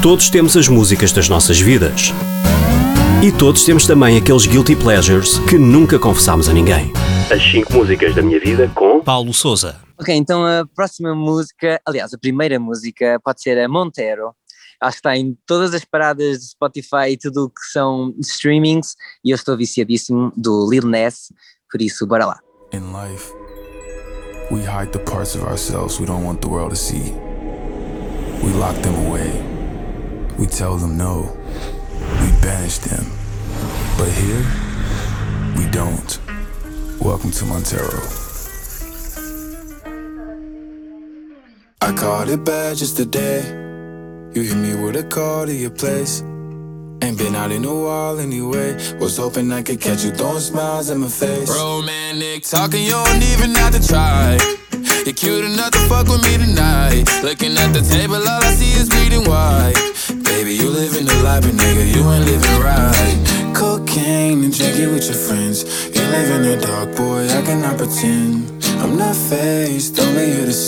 Todos temos as músicas das nossas vidas. E todos temos também aqueles guilty pleasures que nunca confessámos a ninguém. As 5 músicas da minha vida com Paulo Sousa. Ok, então a próxima música, aliás, a primeira música pode ser a Montero. Acho que está em todas as paradas de Spotify e tudo o que são streamings e eu estou viciadíssimo do Lil Nas, por isso, bora lá. In life, we hide the parts of ourselves we don't want the world to see. We lock them away. We tell them no. We banish them. But here, we don't. Welcome to Montero. I caught it bad just today. You hit me with a call to your place. Ain't been out in a while anyway. Was hoping I could catch you throwing smiles in my face. Romantic talking, you don't even have to try. You're cute enough to fuck with me tonight. Looking at the table, all I see is bleeding white. Baby, you living the life, but nigga, you ain't living right. Cocaine and drinking with your friends. You live in the dark, boy, I cannot pretend. I'm not faced, only here to